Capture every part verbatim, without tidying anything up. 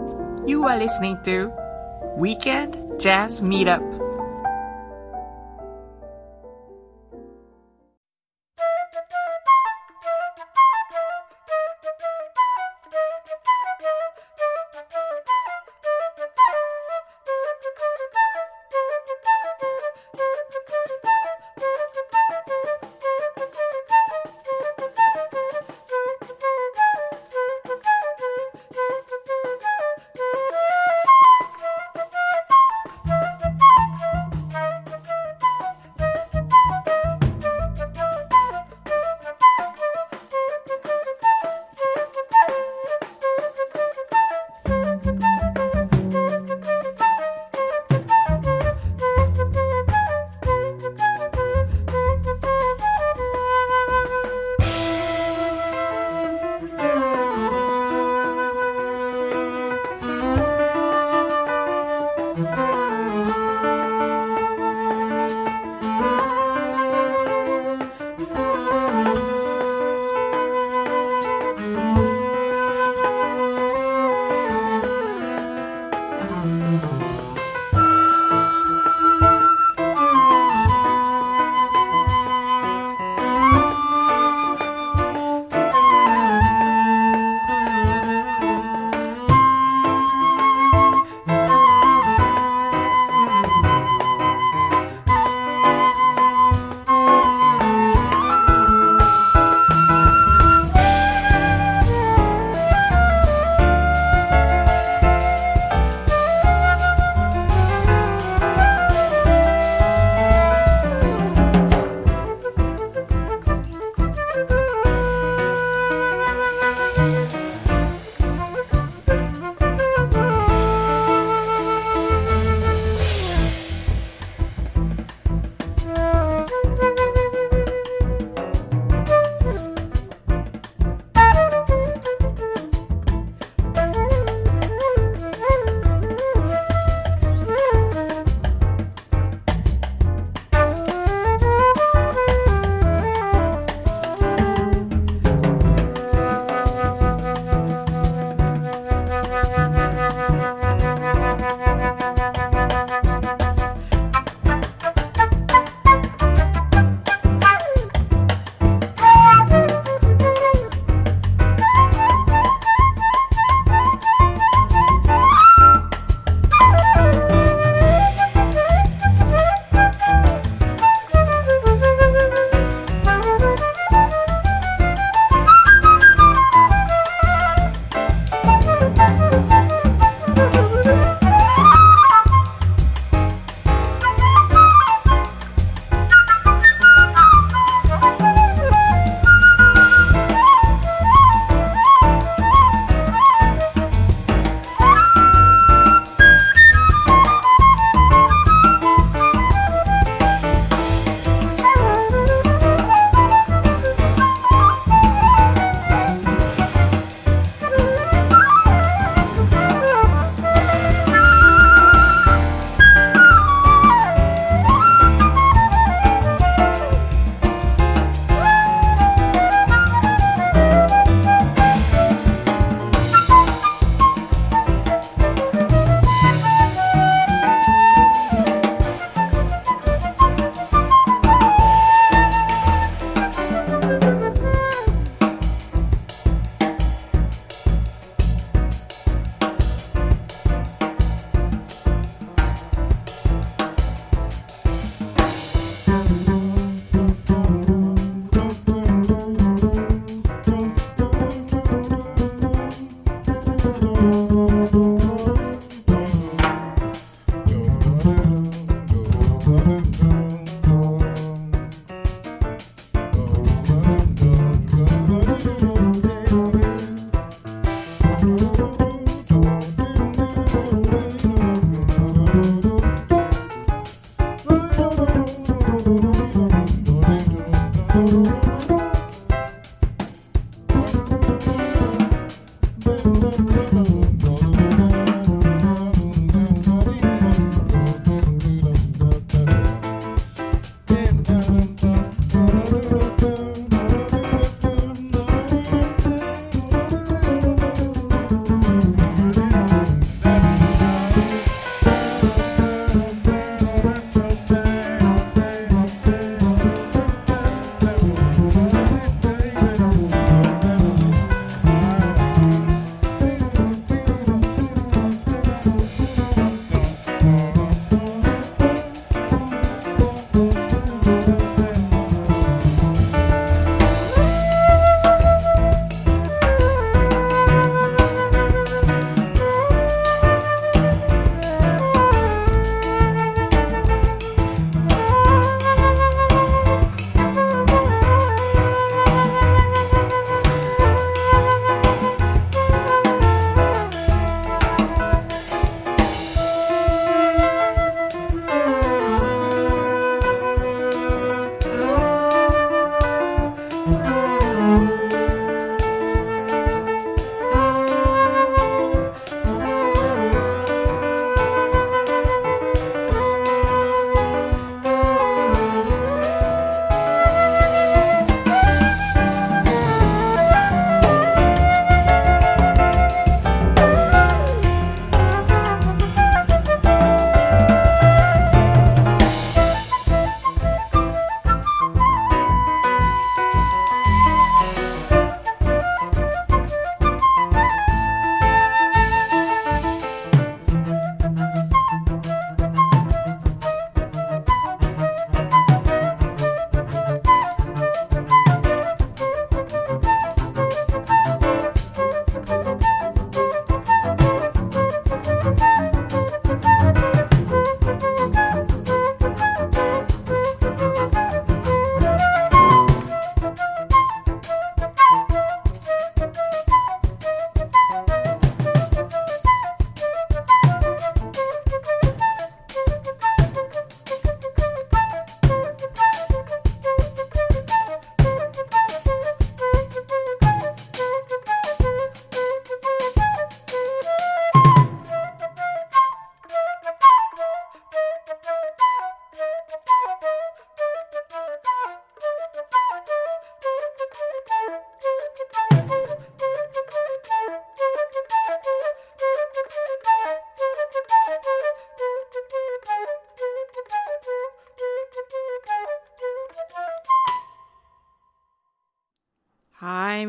You are listening to Weekend Jazz Meetup.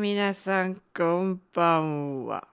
皆さん、こんばんは。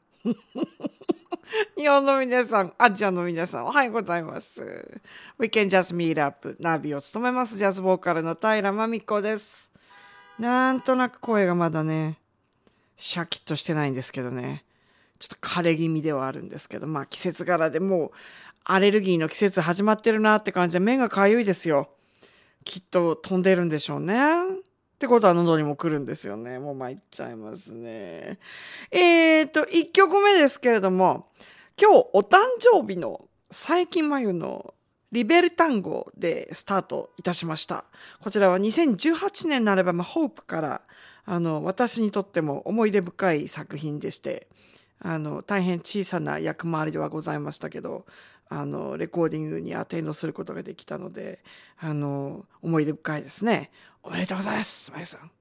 日本の皆さん、アジアの皆さん、おはようございます。We can just meet up ナビを務めます。ジャズボーカルの平真美子です。なんとなく声がまだね、シャキッとしてないんですけどね。ちょっと枯れ気味ではあるんですけど、まあ季節柄でもうアレルギーの季節始まってるなって感じで目がかゆいですよ。きっと飛んでるんでしょうね。ってことは喉にも来るんですよね。もう参っちゃいますね。えーと、いっきょくめですけれども、今日お誕生日の佐伯真由のリベルタンゴでスタートいたしました。こちらはにせんじゅうはちねんのアルバムホープからあの私にとっても思い出深い作品でして、あの大変小さな役回りではございましたけど、あのレコーディングにアテンドすることができたので、あの思い出深いですね。おめでとうございます、まゆさん。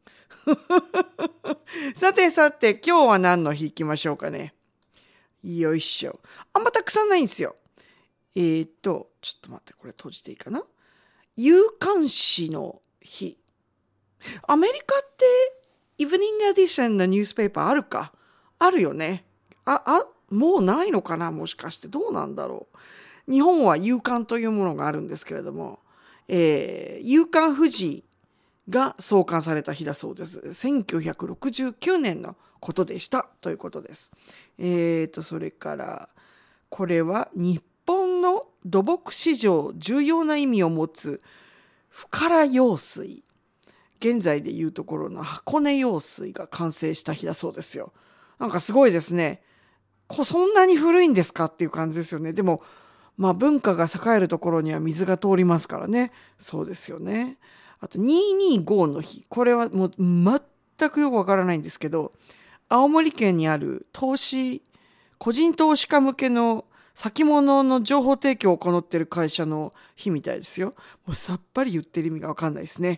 さてさて、今日は何の日行きましょうかね。よいしょ。あんまたくさんないんですよ。えーと、ちょっと待って、これ閉じていいかな。夕刊紙の日。アメリカってイブニングエディションのニュースペーパーあるか。あるよね。あ、あ、もうないのかな、もしかしてどうなんだろう。日本は夕刊というものがあるんですけれども、えー、夕刊富士が創刊された日だそうです。せんきゅうひゃくろくじゅうきゅうねんのことでしたということです。えーと、それから、これは日本の土木史上重要な意味を持つ深良用水。現在でいうところの箱根用水が完成した日だそうですよ。なんかすごいですね。そんなに古いんですかっていう感じですよね。でも、まあ文化が栄えるところには水が通りますからね。そうですよね。あとにひゃくにじゅうごの日。これはもう全くよくわからないんですけど、青森県にある投資、個人投資家向けの先物の情報提供を行っている会社の日みたいですよ。もうさっぱり言ってる意味がわかんないですね。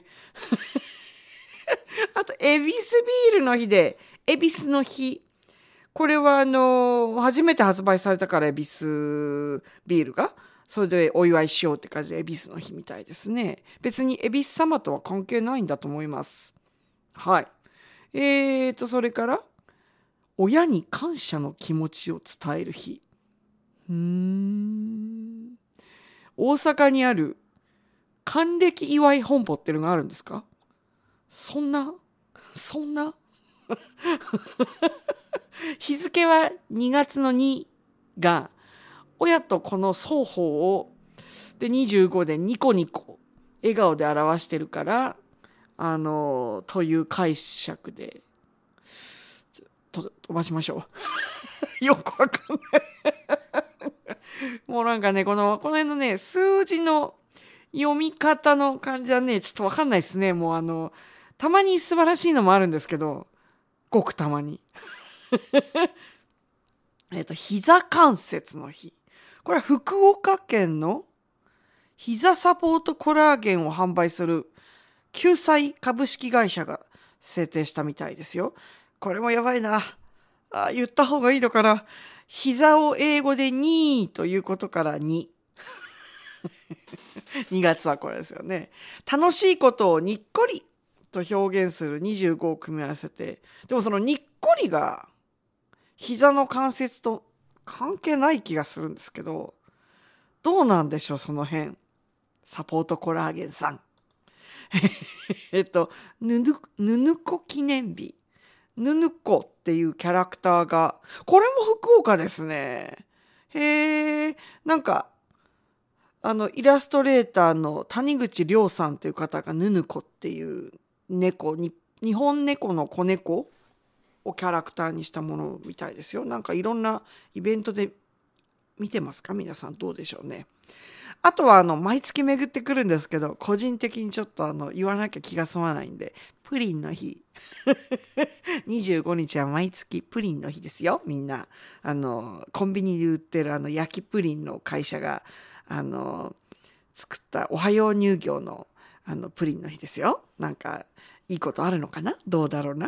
あと、恵比寿ビールの日で、恵比寿の日。これはあの初めて発売されたから恵比寿ビールがそれでお祝いしようって感じで恵比寿の日みたいですね。別に恵比寿様とは関係ないんだと思います。はい。えーとそれから親に感謝の気持ちを伝える日。うーん。大阪にある還暦祝い本舗っていうのがあるんですか？そんなそんな日付はにがつのにが親と子の双方をでにじゅうごでニコニコ笑顔で表してるからあのという解釈でと飛ばしましょう。よくわかんないもうなんかねこのこの辺のね数字の読み方の感じはねちょっとわかんないですね。もうあのたまに素晴らしいのもあるんですけどごくたまにえっと、膝関節の日。これは福岡県の膝サポートコラーゲンを販売する救済株式会社が制定したみたいですよ。これもやばいな。あ、言った方がいいのかな。膝を英語でにということからに。にがつはこれですよね。楽しいことをにっこりと表現するにじゅうごを組み合わせて、でもそのにっこりが膝の関節と関係ない気がするんですけど、どうなんでしょうその辺。サポートコラーゲンさん。えっと、ぬぬ、ぬぬこ記念日。ぬぬこっていうキャラクターが、これも福岡ですね。へえ、なんか、あの、イラストレーターの谷口亮さんという方がぬぬこっていう猫に、日本猫の子猫をキャラクターにしたものみたいですよ。なんかいろんなイベントで見てますか？皆さんどうでしょうね。あとはあの毎月巡ってくるんですけど、個人的にちょっとあの言わなきゃ気が済まないんで、プリンの日にじゅうごにちは毎月プリンの日ですよ。みんなあのコンビニで売ってるあの焼きプリンの会社があの作ったおはよう乳業のあのプリンの日ですよ。なんかいいことあるのかな？どうだろうな。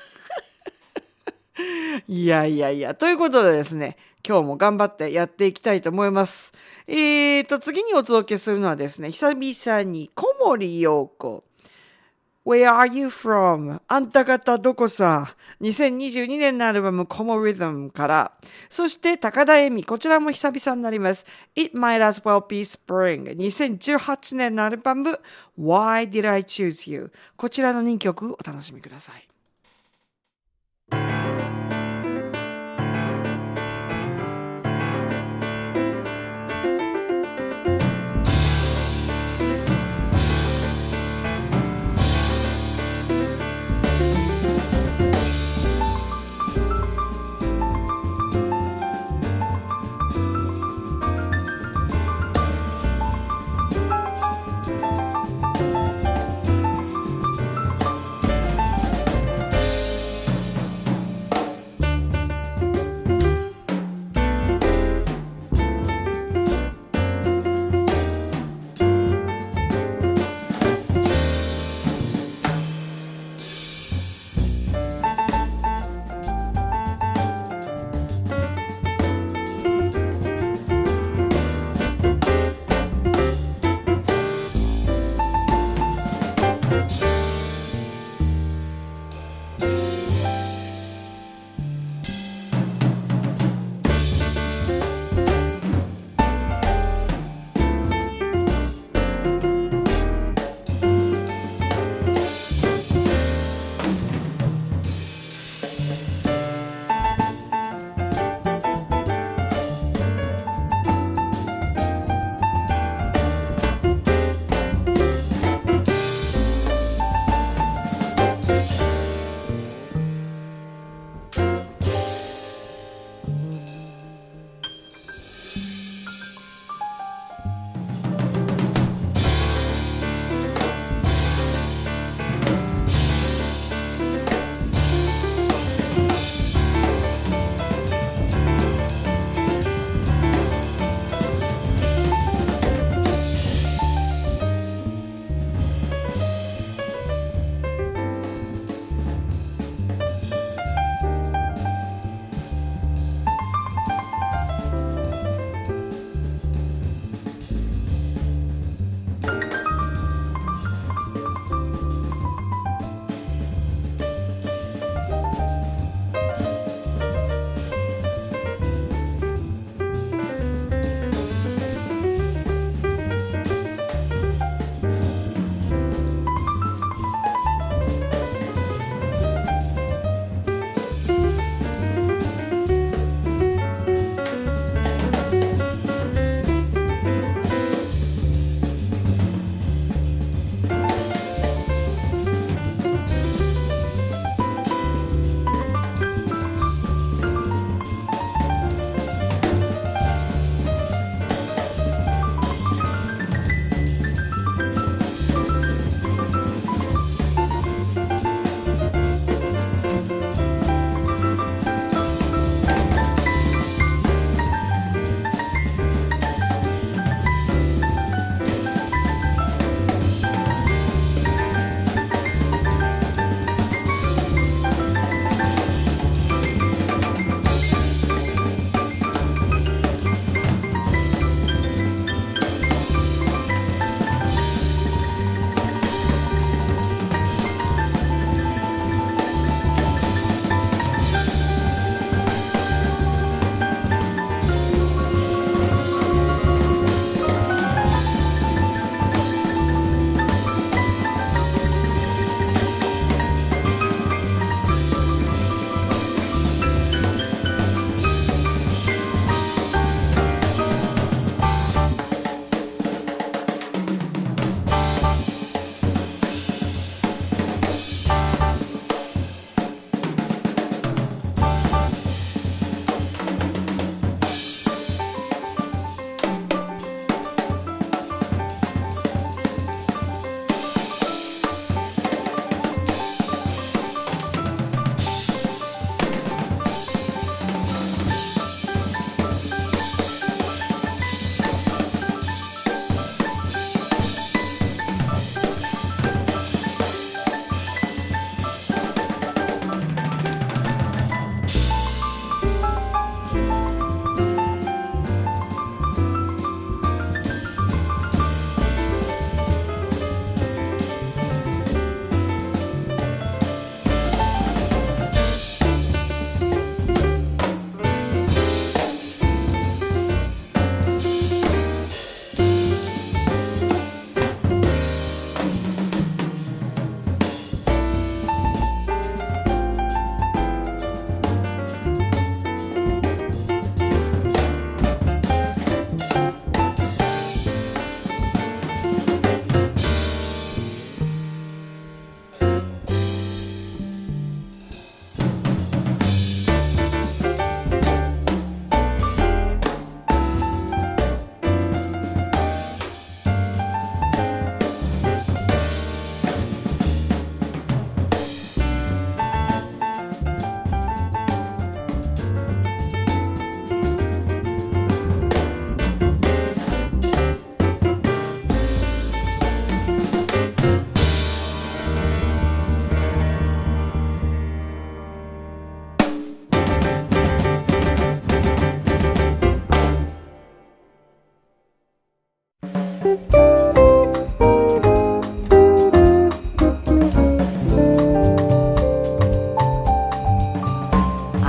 いやいやいや、ということでですね、今日も頑張ってやっていきたいと思います。えーと、次にお届けするのはですね、久々に小森陽子。 Where are you from? あんた方どこさ？にせんにじゅうにねんのアルバム Como Rhythm から。そして高田恵美、こちらも久々になります。It Might As Well Be Spring にせんじゅうはちねんのアルバム Why Did I Choose You? こちらのにきょくお楽しみください。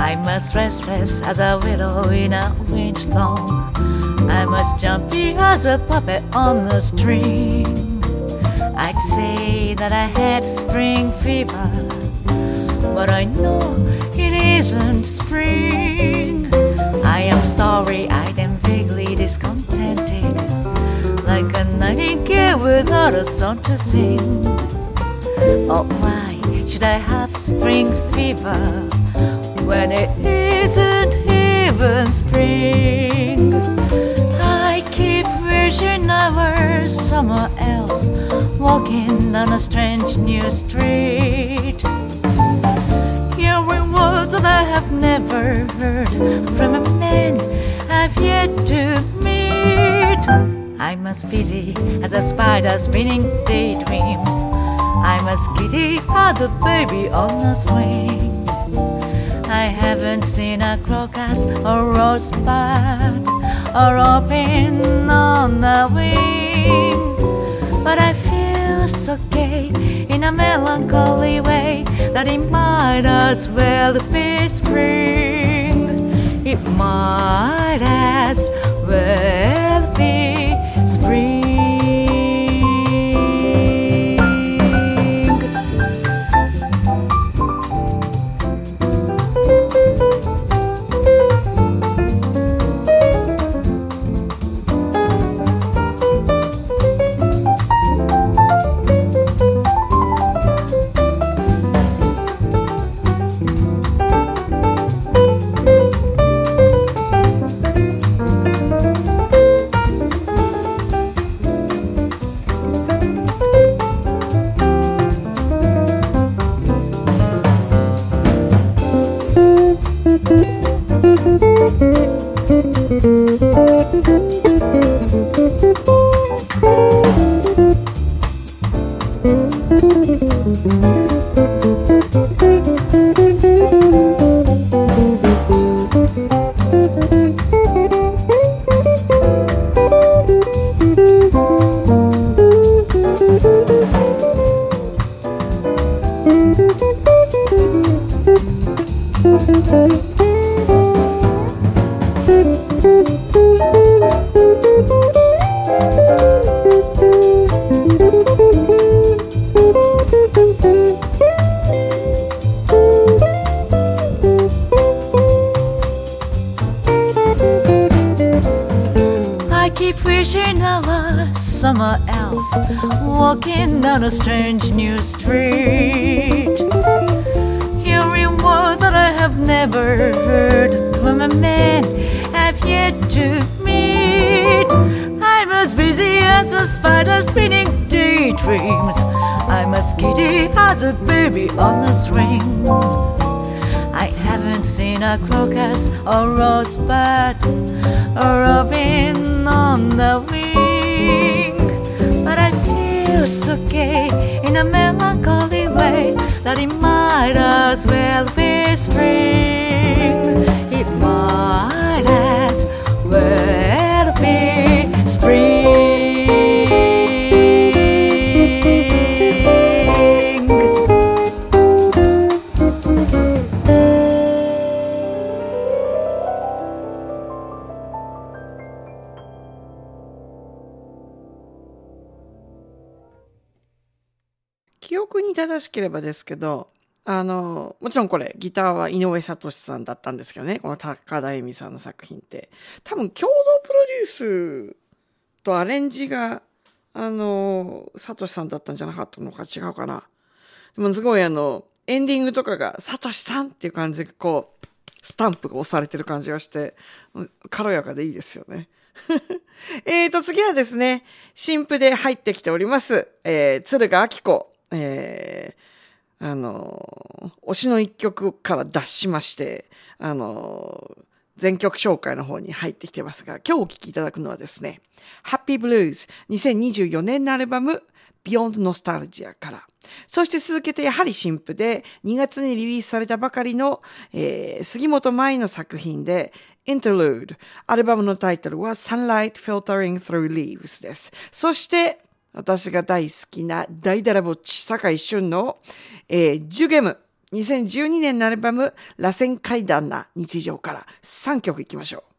I'm as restless as a willow in a windstorm. I'm as jumpy as a puppet on the string. I'd say that I had spring fever, but I know it isn't spring. I am starry-eyed and vaguely discontented, like a nightingale without a song to sing. Oh, why should I have spring fever when it isn't even spring? I keep wishing I were somewhere else, walking down a strange new street, hearing words that I have never heard from a man I've yet to meet. I'm as busy as a spider spinning daydreams. I'm as giddy as a baby on a swing. I haven't seen a crocus or rosebud or open on the wing, but I feel so gay in a melancholy way that it might as well be spring. It might as well be spring. Somewhere else, walking down a strange new street, hearing words that I have never heard from a man I've yet to meet. I'm as busy as a spider spinning daydreams. I'm as giddy as a baby on a swing. I haven't seen a crocus or rosebud or robin on the wing, but I feel so gay in a melancholy way that it might as well be spring. It might as well be spring. 記憶に正しければですけど、あのもちろんこれギターは井上聡さんだったんですけどね、この高田恵美さんの作品って多分共同プロデュースとアレンジがあの聡さんだったんじゃなかったのか違うかな。でもすごいあのエンディングとかが聡さんっていう感じでこうスタンプが押されてる感じがして軽やかでいいですよね。えーと次はですね、新譜で入ってきております、えー、鶴ヶ明子、えー、あの推しの一曲から脱しまして、あの全曲紹介の方に入ってきてますが、今日お聴きいただくのはですね、Happy Blues にせんにじゅうよねんのアルバム Beyond Nostalgia から、そして続けてやはり新譜でにがつにリリースされたばかりの、えー、杉本舞の作品で Interlude、 アルバムのタイトルは Sunlight Filtering Through Leaves です。そして私が大好きな大だらぼっち坂井俊の、えー、ジュゲムにせんじゅうにねんのアルバム螺旋階段な日常からさんきょくいきましょう。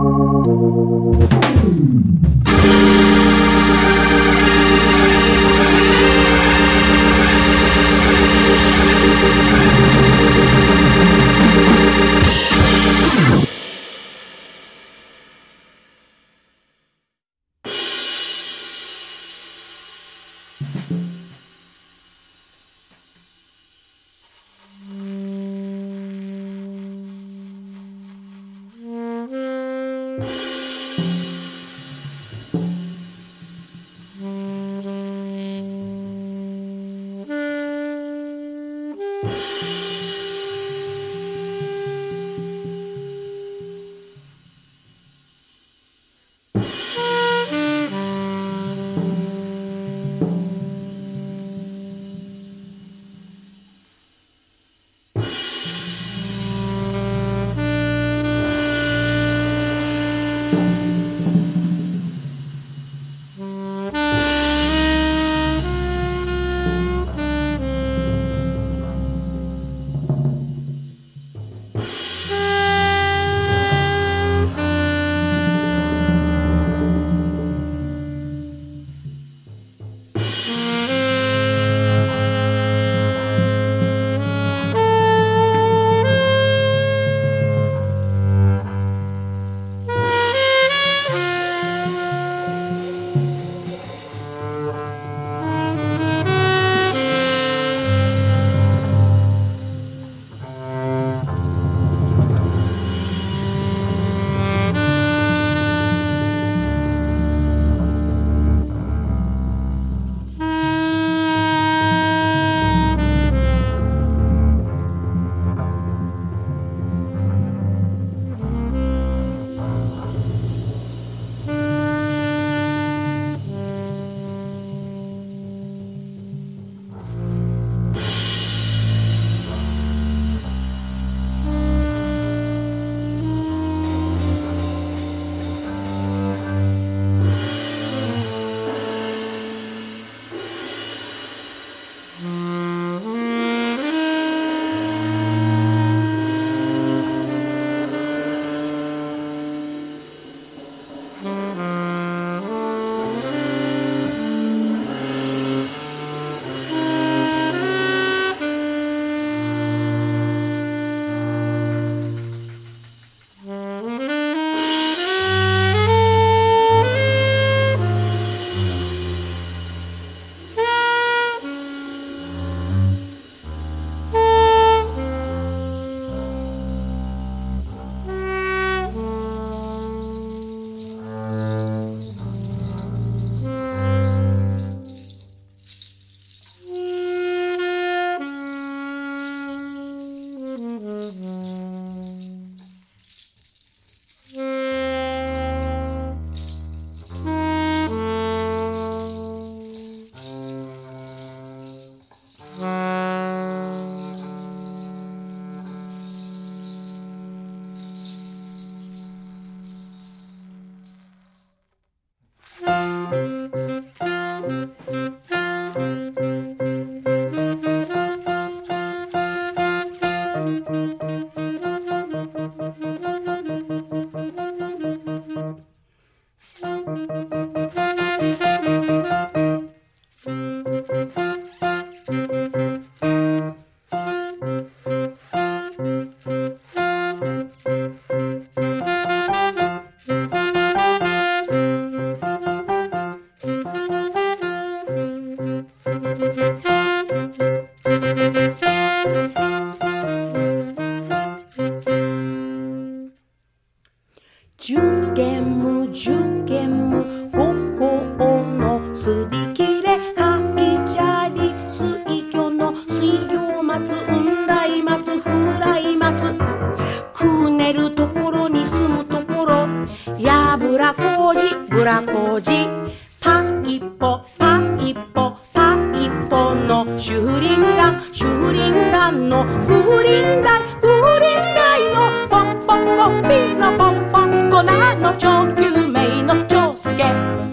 受験無受験無五行のすり切れ海砂利水魚の水魚松雲来松風来松くねるところに住むところやぶらこうじぶらこうじパイポパイポパイポのシュリンガンシュリンガンの風鈴台風鈴台のポンポンコピーのポンポン粉の超救命の長介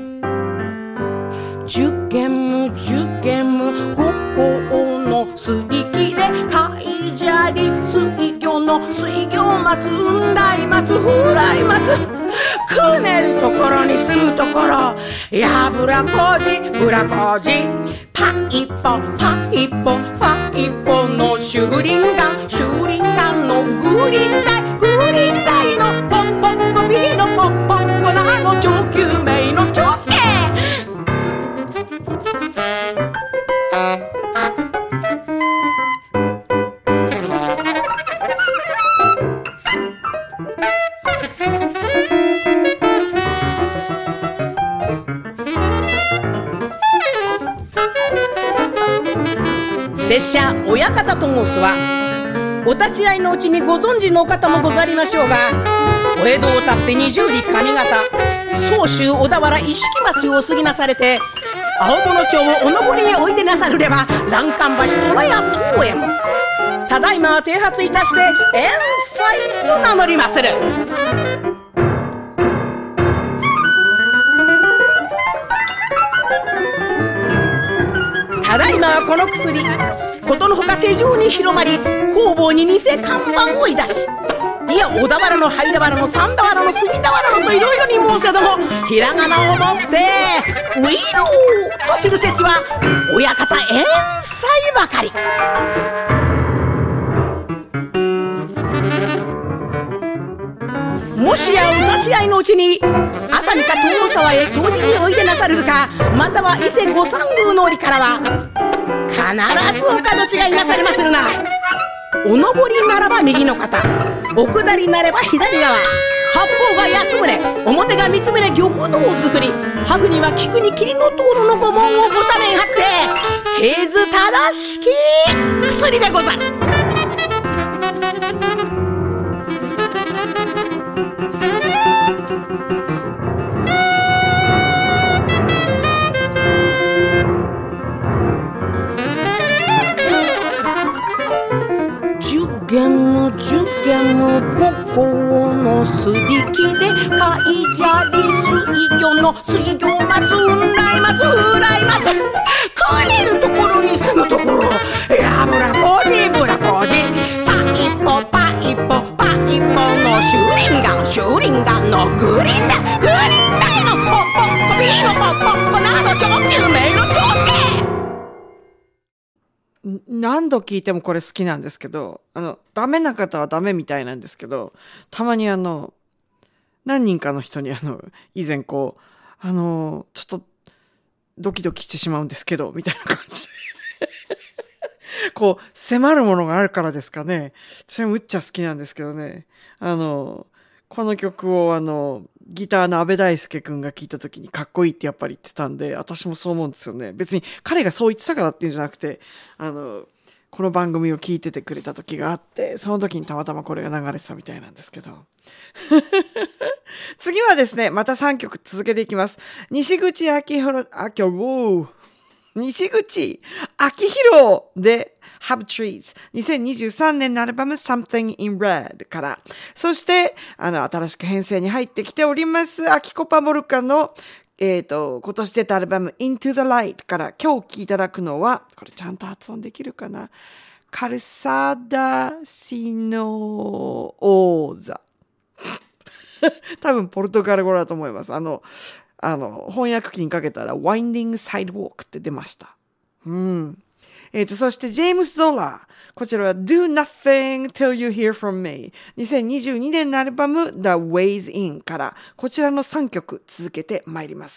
受験無受験無五行のすり切れ海砂利水魚の水魚松雲来松風来松くねるところに住むところ、やぶらこじぶらこじ、パイポパイポパイポのシューリンガン、シューリンガンのグリーンダイ、グリーンダイのポッポッコビーのポッポッコなの上級名の長介。拙者親方と申すは、お立ち会いのうちにご存知の方もござりましょうが、お江戸をたって二十里上方、総州小田原一色町を過ぎなされて、青物町をお登りへおいでなさるれば、欄干橋虎屋東右衛門、ただいまは剃髪いたして遠斎と名乗りまする。ただいまはこの薬、ことのほか世上に広まり、方々に偽看板をいだし、いや小田原の灰田原の三田原の隅田原のといろいろに申せども、ひらがなをもってウィローと知るせしは親方遠斎ばかり。もしやお立ち会いのうちに熱海か東沢へ教示においでなさるるか、または伊勢御三宮の折からは必ずお門違いなされまするな。お上りならば右の肩、お下りなれば左側、八方が八つ棟、表が三つ棟玉堂を作り、ハグには菊に霧の灯籠の御紋をご斜面張って、経図正しき薬でござる。十軒十軒五行のすり切れ、海砂利水魚の水魚松、雲来松風来松、くねるところに住むところ、やぶらこじぶらこじ、パイポパイポパイポのシューリンガン、シューリンガンのグリーンダイ、グリーンダイのポッポッコビーのポッポッコなの上級名の長介。 何度聞いてもこれ好きなんですけど、あの、ダメな方はダメみたいなんですけど、たまにあの、何人かの人にあの、以前こう、あの、ちょっと、ドキドキしてしまうんですけど、みたいな感じで。こう、迫るものがあるからですかね。私もむっちゃ好きなんですけどね。あの、この曲をあの、ギターの安部大輔くんが聴いた時にかっこいいってやっぱり言ってたんで、私もそう思うんですよね。別に彼がそう言ってたからっていうんじゃなくて、あの、この番組を聞いててくれた時があって、その時にたまたまこれが流れてたみたいなんですけど。次はですね、またさんきょく続けていきます。西口明宏、あ、今日、西口明宏で、Have Trees にせんにじゅうさんねんのアルバム Something in Red から、そしてあの新しく編成に入ってきておりますアキコパモルカのえっと今年出たアルバム Into the Light から今日聴いていただくのは、これちゃんと発音できるかな、カルサダシノオーザ多分ポルトガル語だと思います。あのあの翻訳機にかけたら Winding Sidewalk って出ました。うんえっと、そしてジェームス・ゾラー。こちらは Do Nothing Till You Hear From Me。にせんにじゅうにねんのアルバム The Ways In から、こちらのさんきょく続けてまいります。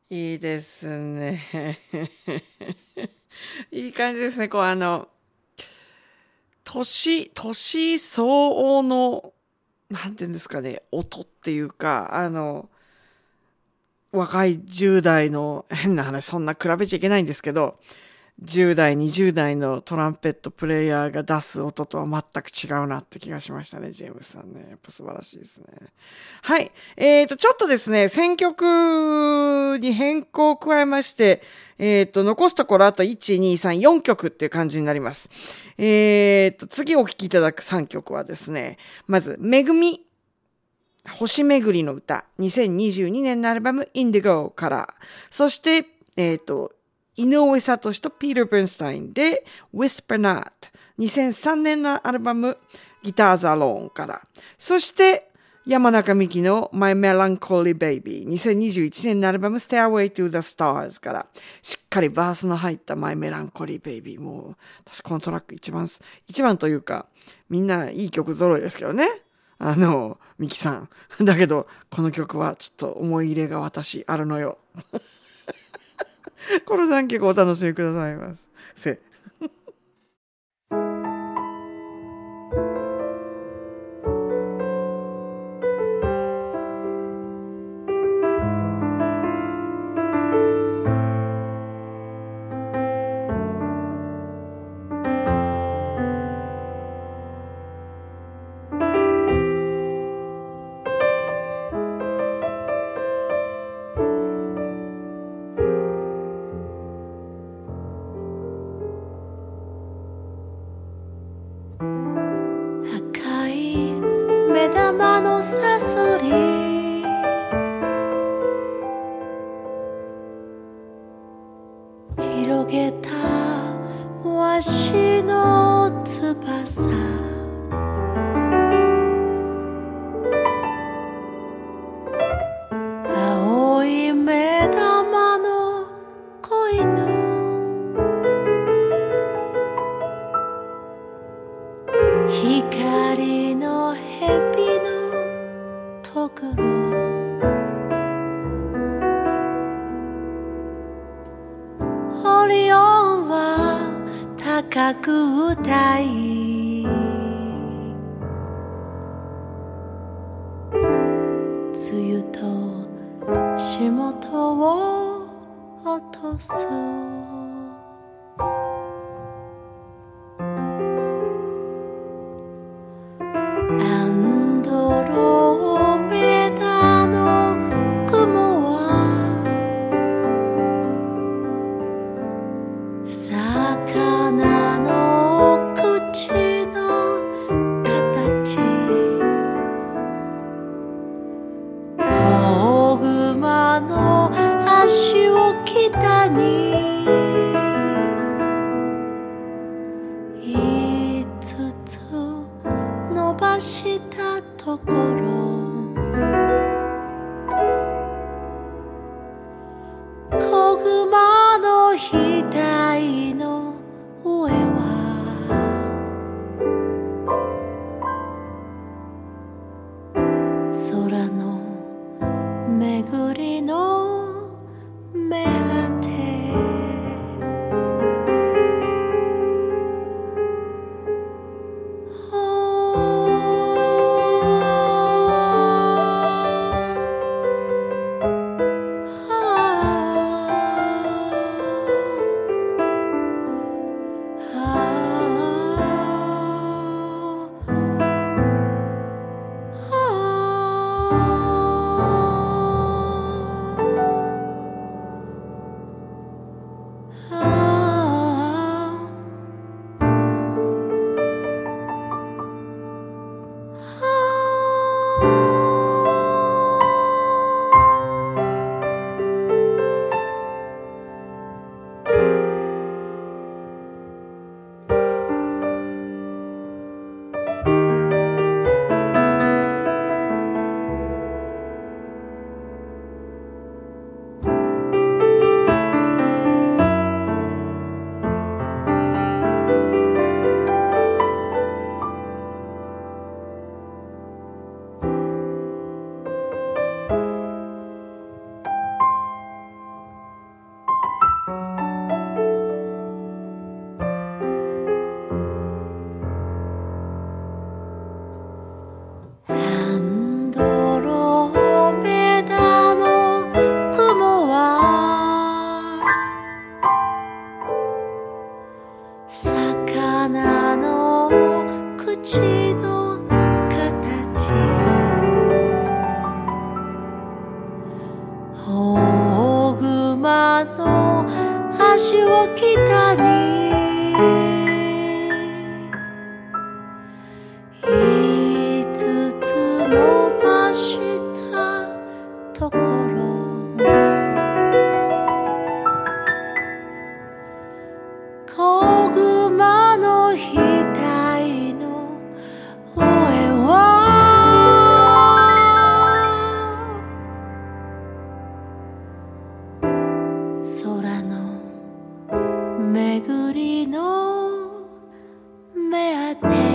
いいですね。いい感じですね。こう、あの、年、年相応の、なんていうんですかね、音っていうか、あの、若いじゅう代の、変な話、そんな比べちゃいけないんですけど、じゅう代、にじゅう代のトランペットプレイヤーが出す音とは全く違うなって気がしましたね、ジェームスさんね。やっぱ素晴らしいですね。はい。えっと、ちょっとですね、選曲に変更を加えまして、えっと、残すところあといち、に、さん、よんきょくっていう感じになります。えっと、次お聴きいただくさんきょくはですね、まず、めぐみ。星めぐりの歌。にせんにじゅうにねんのアルバム、インディゴから。そして、えっと、井上聡とピーター・ブルンスタインで Whisper Not にせんさんねんのアルバム Guitars Alone からそして山中美希の My Melancholy Baby にせんにじゅういちねんのアルバム Stairway to the Stars からしっかりバースの入った My Melancholy Baby もう私このトラック一番一番というかみんないい曲揃いですけどねあの美希さんだけどこの曲はちょっと思い入れが私あるのよこのさんきょくお楽しみくださいませ。 赤い目玉のサソリ広げたわしの翼青い目玉の子犬光の蛇のとぐろオリオンは高く歌い梅雨と霜とを落とすアンドロメダの雲は魚の口の形大熊の足を北に五つ伸ばしたところ子熊の額の上は空のめぐりの目果て「 足を北に五つ伸ばしたところ子熊の額の上は空の巡りの目当て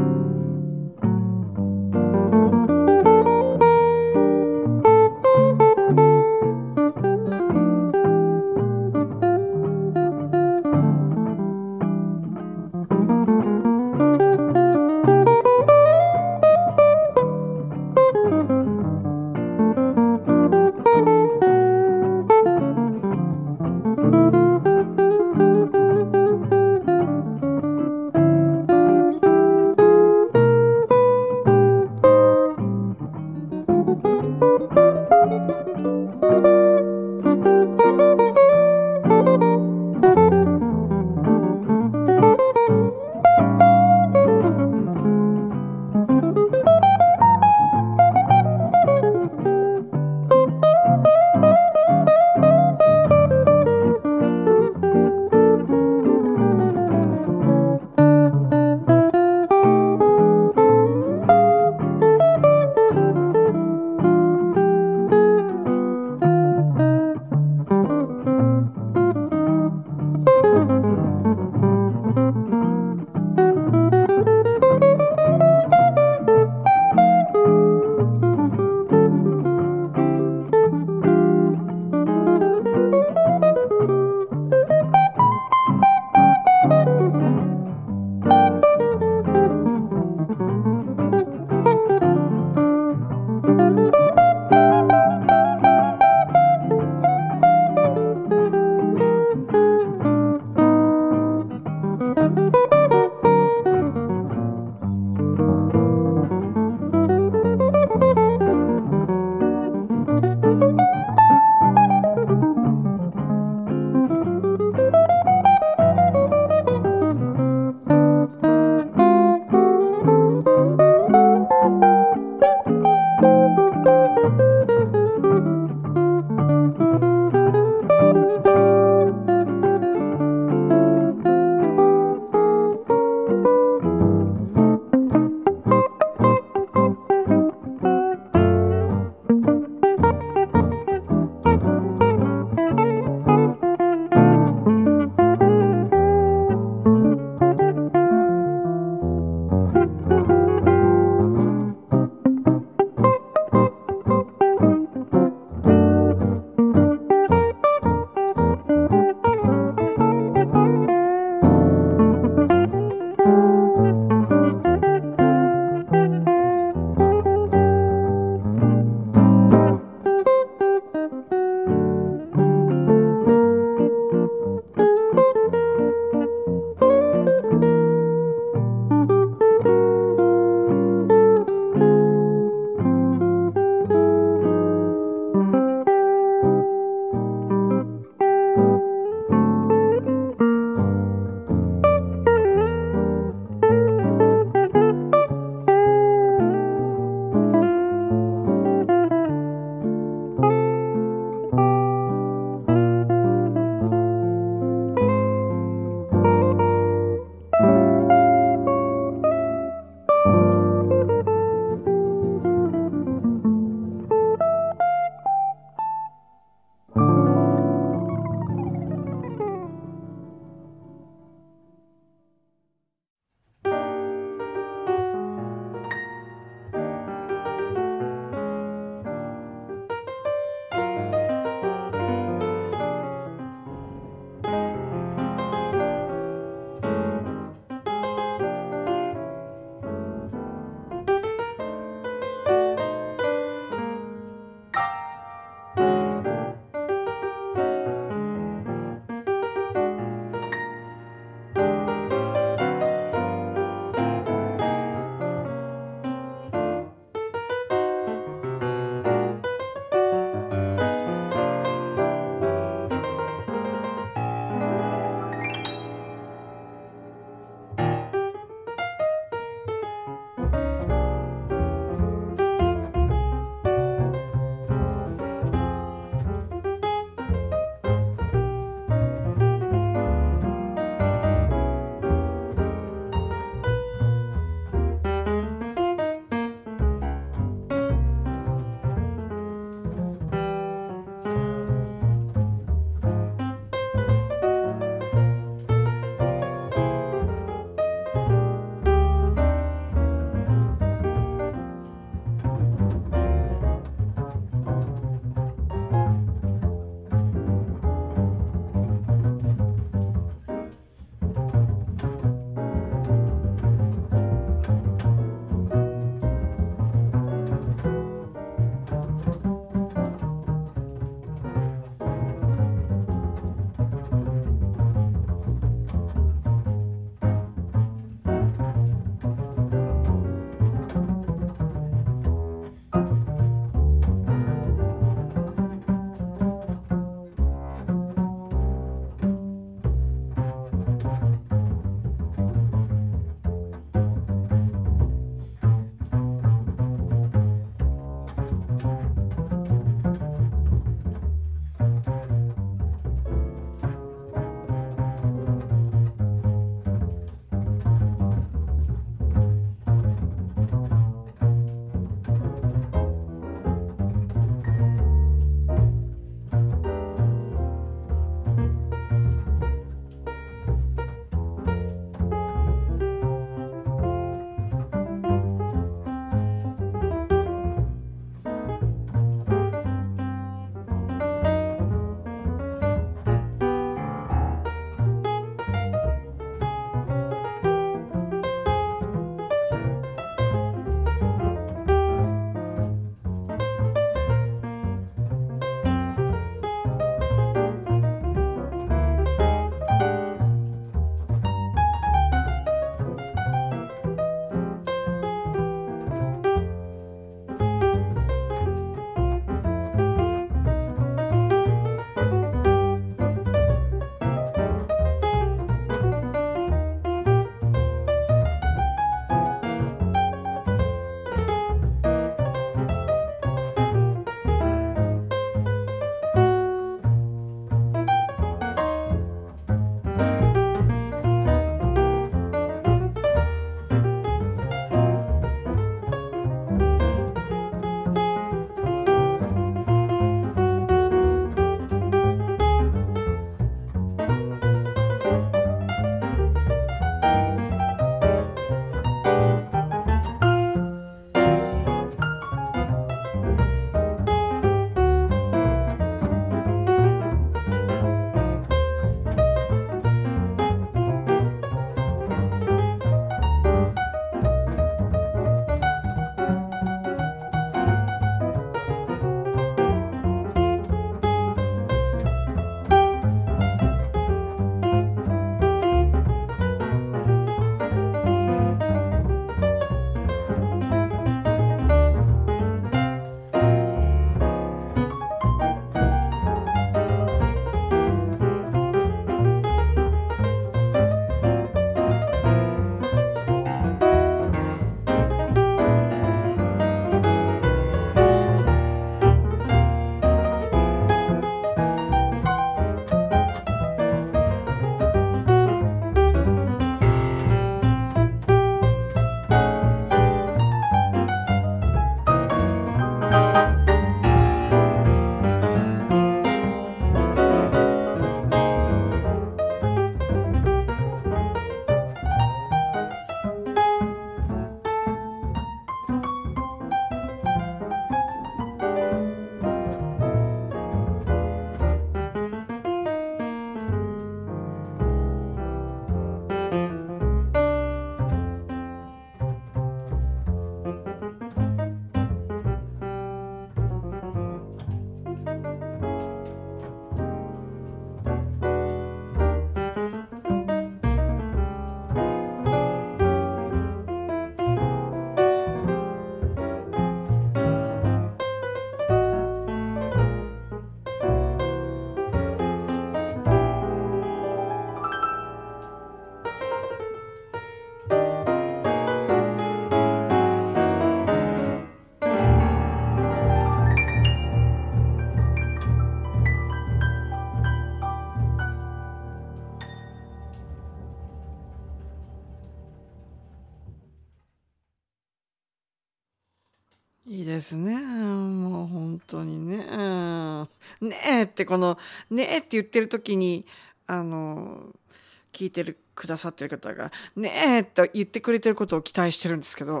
ですね。もう本当にね。ねえってこのねえって言ってる時にあの聞いてるくださってる方がねえと言ってくれてることを期待してるんですけど。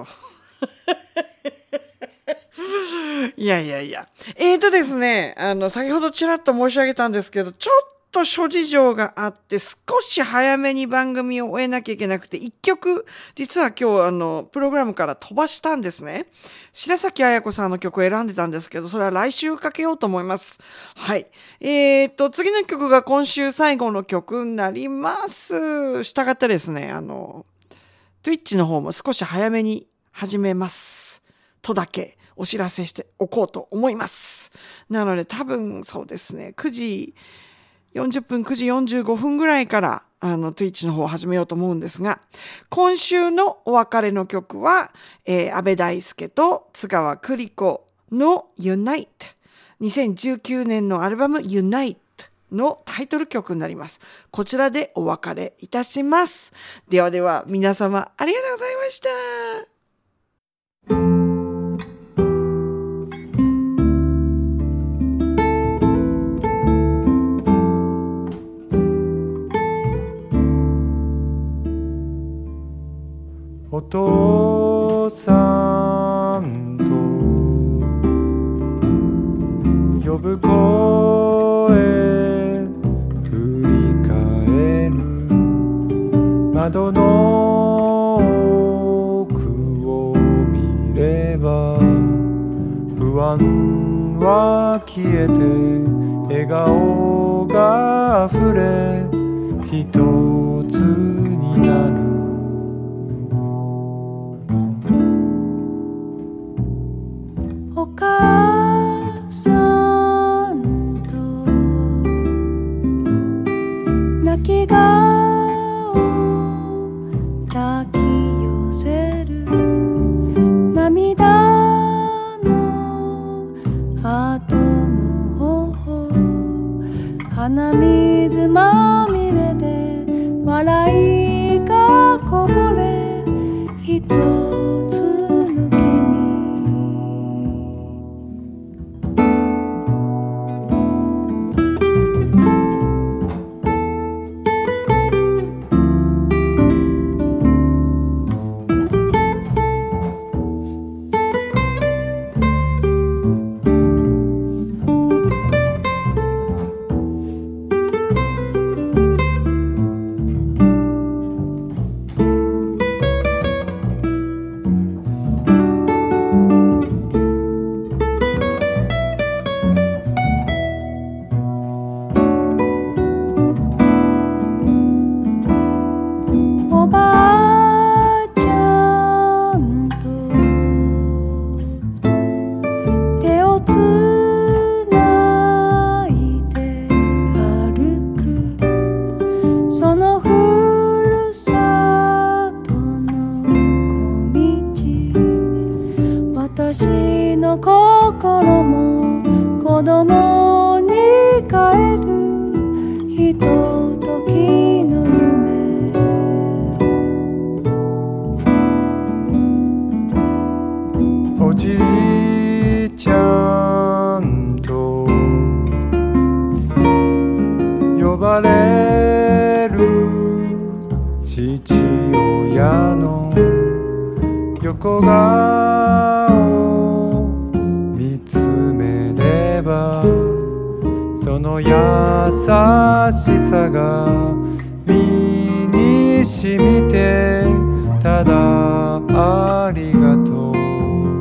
いやいやいや。えーとですね、あの先ほどちらっと申し上げたんですけど、ちょっと諸事情があって少し早めに番組を終えなきゃいけなくて、一曲実は今日あのプログラムから飛ばしたんですね。白崎彩子さんの曲を選んでたんですけど、それは来週かけようと思います。はい。えーと次の曲が今週最後の曲になります。したがってですね、あの Twitch の方も少し早めに始めますとだけお知らせしておこうと思います。なので多分そうですね、くじよんじゅっぷん、くじよんじゅうごふんぐらいからあの Twitch の方を始めようと思うんですが、今週のお別れの曲は、えー、安倍大輔と津川栗子の Unite、 にせんじゅうきゅうねんのアルバム Unite のタイトル曲になります。こちらでお別れいたします。ではでは皆様ありがとうございました。 お父さんと呼ぶ声振り返る窓の奥を見れば不安は消えて笑顔があふれ一つになるお母さんと泣き顔抱き寄せる涙の後の頬鼻水まみれで笑いがこぼれ一つの君私の心も子供に帰るひとときの夢おじいちゃんと呼ばれる父親の横顔見つめればその優しさが身に染みてただありがとう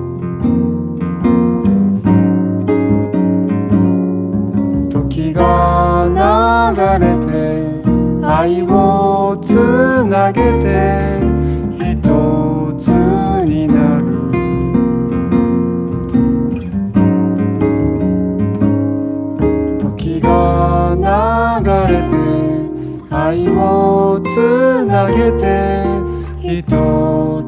時が流れて愛をつなげて一つになる時が流れて愛をつなげて一つ